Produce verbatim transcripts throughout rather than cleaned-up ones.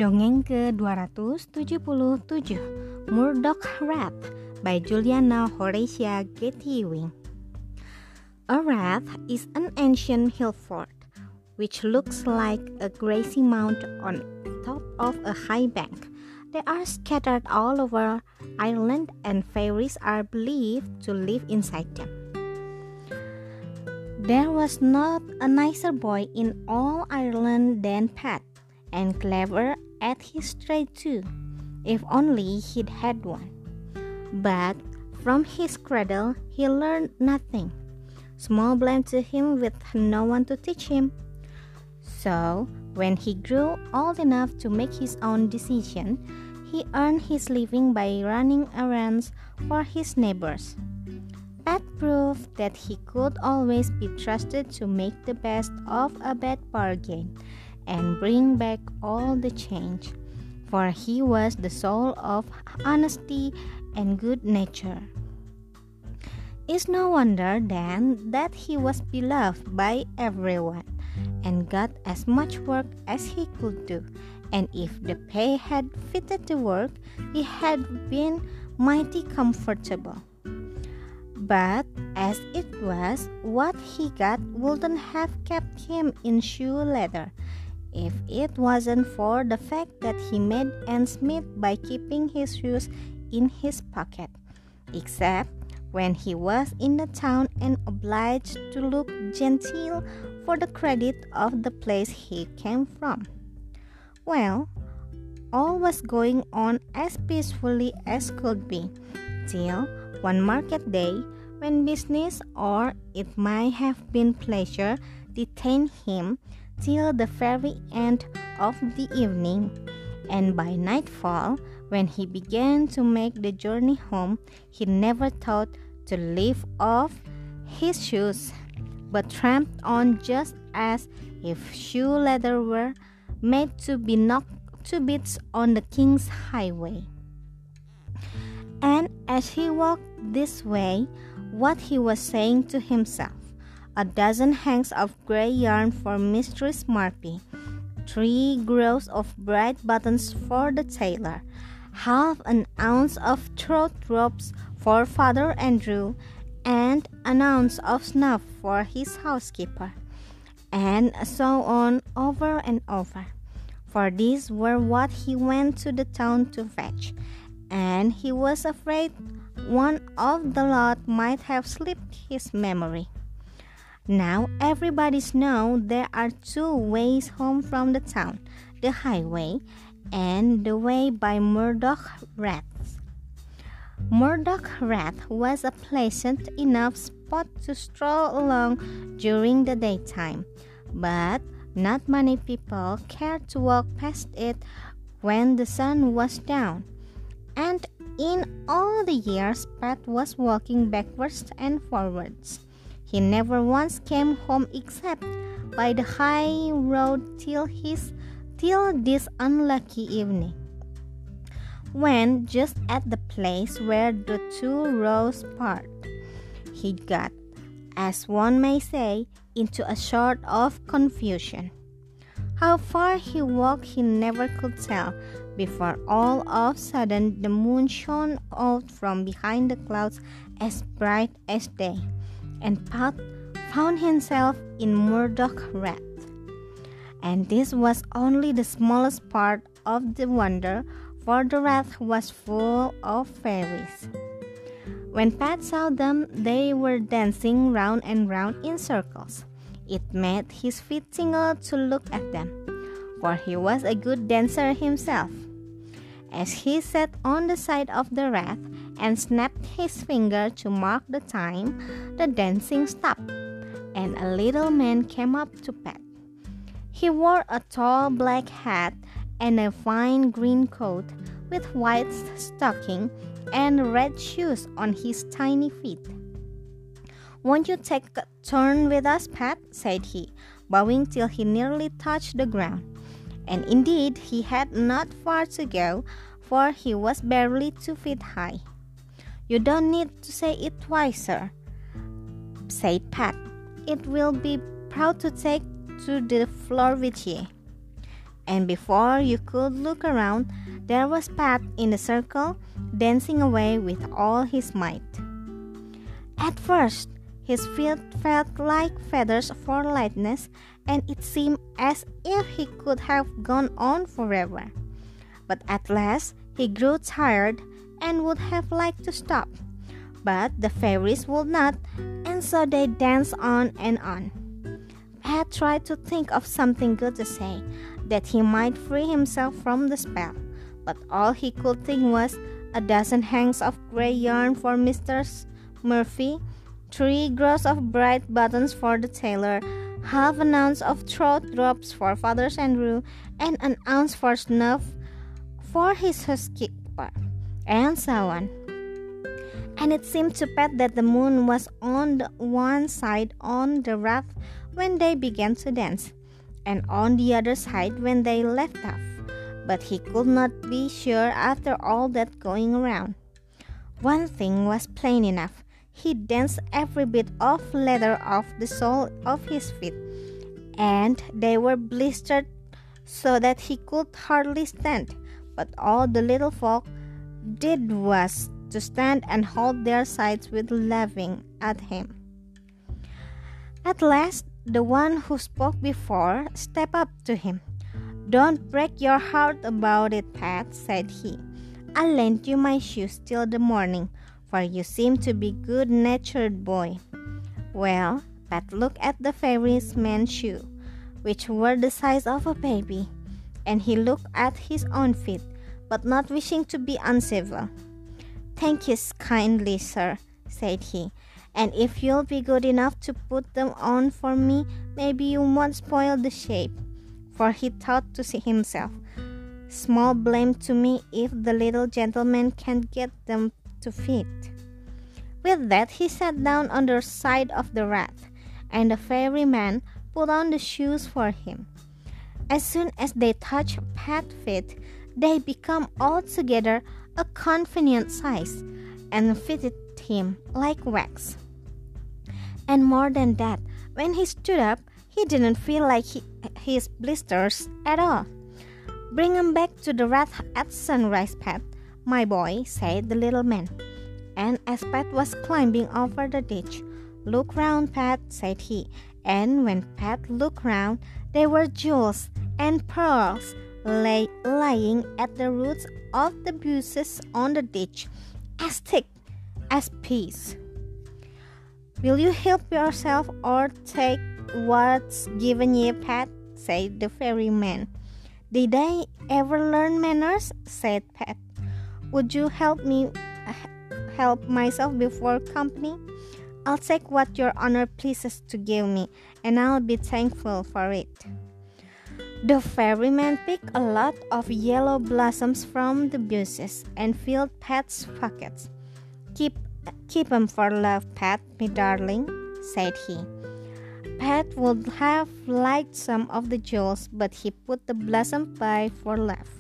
Dongeng ke dua ratus tujuh puluh tujuh, Murdoch Rat by Juliana Horatia Getty-Wing. A rat is an ancient hill fort which looks like a grassy mound on top of a high bank. They are scattered all over Ireland, and fairies are believed to live inside them. There was not a nicer boy in all Ireland than Pat, and clever at his trade too, if only he'd had one. But from his cradle he learned nothing. Small blame to him with no one to teach him. So when he grew old enough to make his own decision, he earned his living by running errands for his neighbors. Pat proved that he could always be trusted to make the best of a bad bargain and bring back all the change, for he was the soul of honesty and good nature. It's no wonder then that he was beloved by everyone and got as much work as he could do, and if the pay had fitted the work, he had been mighty comfortable. But as it was, what he got wouldn't have kept him in shoe leather if it wasn't for the fact that he made ends meet by keeping his shoes in his pocket, except when he was in the town and obliged to look genteel for the credit of the place he came from. Well, all was going on as peacefully as could be, till one market day, when business, or it might have been pleasure, detained him till the very end of the evening, and by nightfall, when he began to make the journey home, he never thought to leave off his shoes, but tramped on just as if shoe leather were made to be knocked to bits on the king's highway. And as he walked this way, what he was saying to himself: a dozen hanks of grey yarn for Mistress Marpy, three grows of bright buttons for the tailor, half an ounce of throat ropes for Father Andrew, and an ounce of snuff for his housekeeper, and so on over and over. For these were what he went to the town to fetch, and he was afraid one of the lot might have slipped his memory. Now everybody's know there are two ways home from the town, the highway and the way by Murdoch Rats. Murdoch Rat was a pleasant enough spot to stroll along during the daytime, but not many people cared to walk past it when the sun was down. And in all the years Pat was walking backwards and forwards, he never once came home except by the high road till his till this unlucky evening, when just at the place where the two roads part, he got, as one may say, into a sort of confusion. How far he walked he never could tell, before all of a sudden the moon shone out from behind the clouds as bright as day, and Pat found himself in Murdoch Rat. And this was only the smallest part of the wonder, for the rat was full of fairies. When Pat saw them, they were dancing round and round in circles. It made his feet tingle to look at them, for he was a good dancer himself. As he sat on the side of the rat and snapped his finger to mark the time, the dancing stopped, and a little man came up to Pat. He wore a tall black hat and a fine green coat, with white stocking and red shoes on his tiny feet. "Won't you take a turn with us, Pat?" said he, bowing till he nearly touched the ground. And indeed he had not far to go, for he was barely two feet high. "You don't need to say it twice, sir," said Pat. "It will be proud to take to the floor with ye." And before you could look around, there was Pat in the circle, dancing away with all his might. At first, his feet felt like feathers for lightness, and it seemed as if he could have gone on forever. But at last, he grew tired and would have liked to stop. But the fairies would not, and so they danced on and on. Pat tried to think of something good to say, that he might free himself from the spell, but all he could think was a dozen hanks of gray yarn for Mister Murphy, three gross of bright buttons for the tailor, half an ounce of throat drops for Father Andrew, and an ounce for snuff for his housekeeper, and so on. And it seemed to Pat that the moon was on the one side on the raft when they began to dance, and on the other side when they left off. But he could not be sure after all that going around. One thing was plain enough. He danced every bit of leather off the sole of his feet, and they were blistered so that he could hardly stand. But all the little folk did was to stand and hold their sides with laughing at him. At last, the one who spoke before stepped up to him. "Don't break your heart about it, Pat," said he. "I'll lend you my shoes till the morning, for you seem to be a good-natured boy." Well, Pat looked at the fairy's man's shoe, which were the size of a baby, and he looked at his own feet, but not wishing to be uncivil. "Thank you kindly, sir," said he, "and if you'll be good enough to put them on for me, maybe you won't spoil the shape." For he thought to himself, "Small blame to me if the little gentleman can't get them to fit." With that, he sat down on the side of the raft, and the fairy man put on the shoes for him. As soon as they touched Pat's feet, they became altogether a convenient size, and fitted him like wax. And more than that, when he stood up, he didn't feel like he, his blisters at all. "Bring him back to the raft at sunrise, Pat, my boy," said the little man. And as Pat was climbing over the ditch, "Look round, Pat," said he. And when Pat looked round, there were jewels and pearls lay, lying at the roots of the bushes on the ditch, as thick as peas. "Will you help yourself or take what's given ye, Pat?" said the fairy man. "Did I ever learn manners?" said Pat. "Would you help me help myself before company? I'll take what your honor pleases to give me, and I'll be thankful for it." The fairyman picked a lot of yellow blossoms from the bushes and filled Pat's pockets. Keep, keep 'em for love, Pat, me darling," said he. Pat would have liked some of the jewels, but he put the blossom by for love.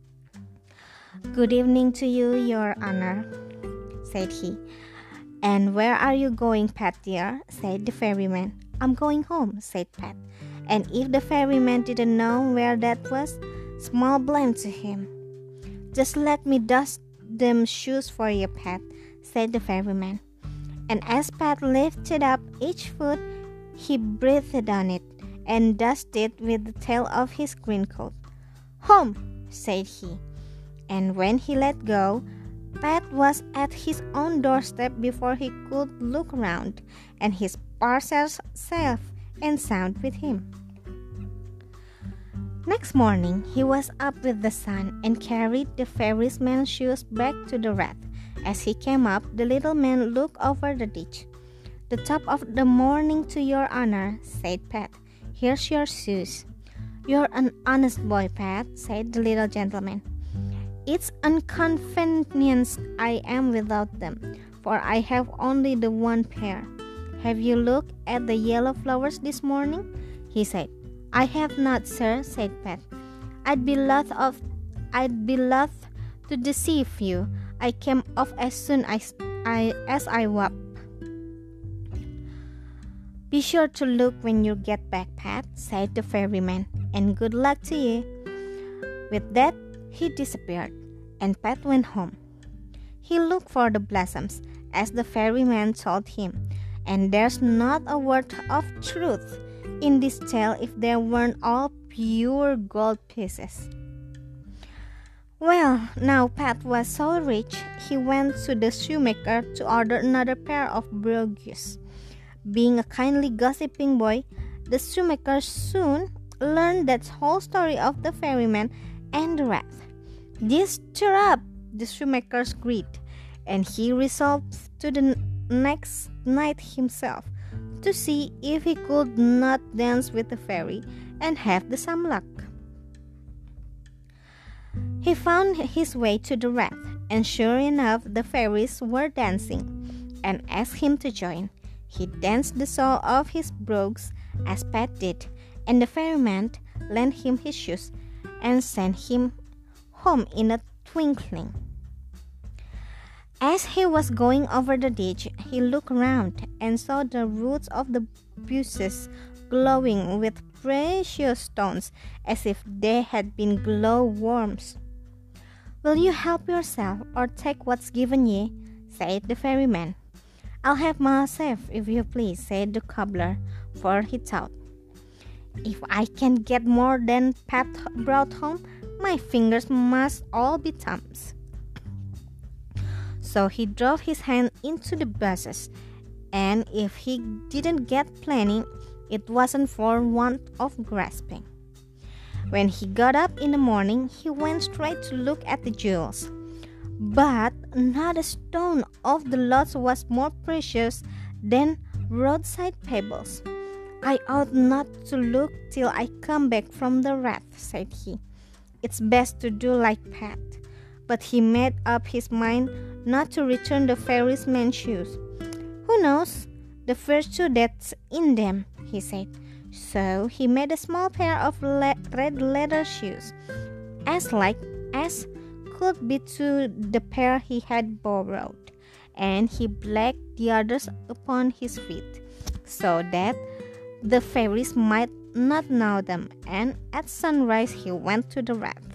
"Good evening to you, your honor," said he. "And where are you going, Pat dear?" said the fairyman. "I'm going home," said Pat. And if the fairyman didn't know where that was, small blame to him. "Just let me dust them shoes for you, Pat," said the fairyman. And as Pat lifted up each foot, he breathed on it and dusted with the tail of his green coat. "Home," said he. And when he let go, Pat was at his own doorstep before he could look round, and his parcels safe and sound with him. Next morning, he was up with the sun and carried the fairy's man's shoes back to the raft. As he came up, the little man looked over the ditch. "The top of the morning to your honor," said Pat. "Here's your shoes." "You're an honest boy, Pat," said the little gentleman. "It's inconvenienced I am without them, for I have only the one pair. Have you looked at the yellow flowers this morning?" he said. "I have not, sir," said Pat. I'd be loth of, I'd be loth to deceive you. I came off as soon as I, as I walked." "Be sure to look when you get back, Pat," said the fairyman, "and good luck to you." With that, he disappeared, and Pat went home. He looked for the blossoms, as the ferryman told him, and there's not a word of truth in this tale if they weren't all pure gold pieces. Well, now Pat was so rich, he went to the shoemaker to order another pair of brogues. Being a kindly gossiping boy, the shoemaker soon learned that whole story of the ferryman and the rat. This stirred up the shoemaker's greed, and he resolved to the next night himself to see if he could not dance with the fairy and have the some luck. He found his way to the rat, and sure enough the fairies were dancing, and asked him to join. He danced the sole of his brogues as Pat did, and the ferryman lent him his shoes and sent him home in a twinkling. As he was going over the ditch, he looked round and saw the roots of the bushes glowing with precious stones as if they had been glow-worms. "Will you help yourself or take what's given ye?" said the ferryman. "I'll have myself, if you please," said the cobbler, for he thought, "If I can get more than Pat brought home, my fingers must all be thumbs." So he drove his hand into the bushes, and if he didn't get plenty, it wasn't for want of grasping. When he got up in the morning, he went straight to look at the jewels. But not a stone of the lot was more precious than roadside pebbles. "I ought not to look till I come back from the rat," said he. "It's best to do like Pat." But he made up his mind not to return the ferryman's shoes. "Who knows the virtue that's in them?" he said. So he made a small pair of le- red leather shoes, as like as could be to the pair he had borrowed, and he blacked the others upon his feet, so that the fairies might not know them, and at sunrise he went to the rat.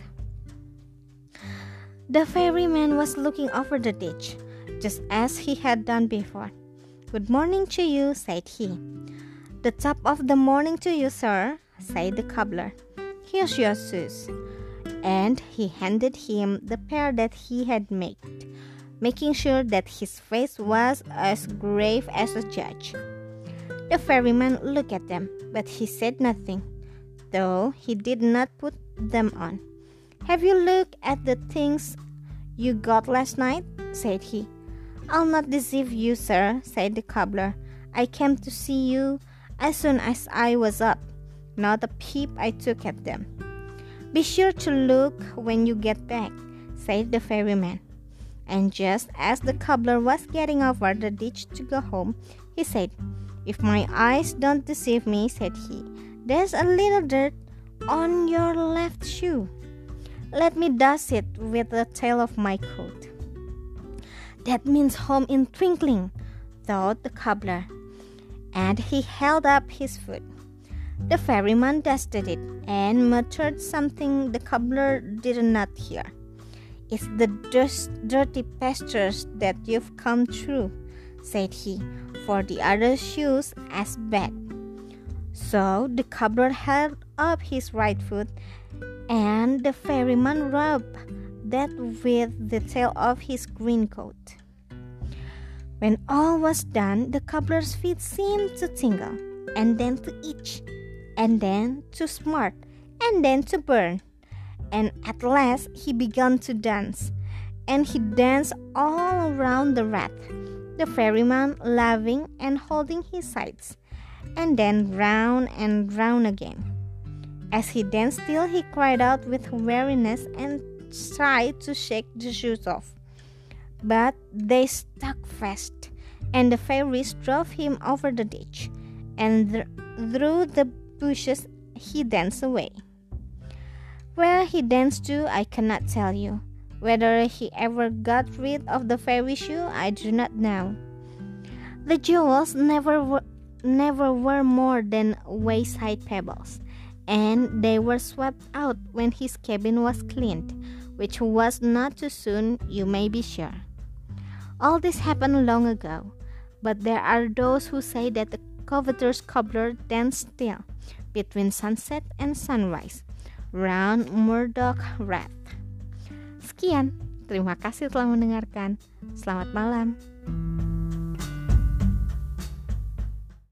The ferryman was looking over the ditch, just as he had done before. "Good morning to you," said he. "The top of the morning to you, sir," said the cobbler. "Here's your shoes." And he handed him the pair that he had made, making sure that his face was as grave as a judge. The ferryman looked at them, but he said nothing, though he did not put them on. "Have you looked at the things you got last night?" said he. "I'll not deceive you, sir," said the cobbler. "I came to see you as soon as I was up. Not a peep I took at them." "Be sure to look when you get back," said the ferryman. And just as the cobbler was getting over the ditch to go home, he said, "If my eyes don't deceive me," said he, "there's a little dirt on your left shoe. Let me dust it with the tail of my coat." "That means home in twinkling," thought the cobbler, and he held up his foot. The ferryman dusted it and muttered something the cobbler did not hear. "It's the dust, dirty pastures that you've come through," said he, "for the other shoes as bad." So the cobbler held up his right foot, and the ferryman rubbed that with the tail of his green coat. When all was done, the cobbler's feet seemed to tingle, and then to itch, and then to smart, and then to burn. And at last he began to dance, and he danced all around the rat, the ferryman laughing and holding his sides, and then round and round again. As he danced still, he cried out with weariness and tried to shake the shoes off. But they stuck fast, and the fairies drove him over the ditch, and th- through the bushes he danced away. Where he danced to, I cannot tell you. Whether he ever got rid of the fairy shoe, I do not know. The jewels never were, never were more than wayside pebbles, and they were swept out when his cabin was cleaned, which was not too soon, you may be sure. All this happened long ago, but there are those who say that the coveter's cobbler danced still between sunset and sunrise round Murdoch Rath. Sekian, terima kasih telah mendengarkan. Selamat malam.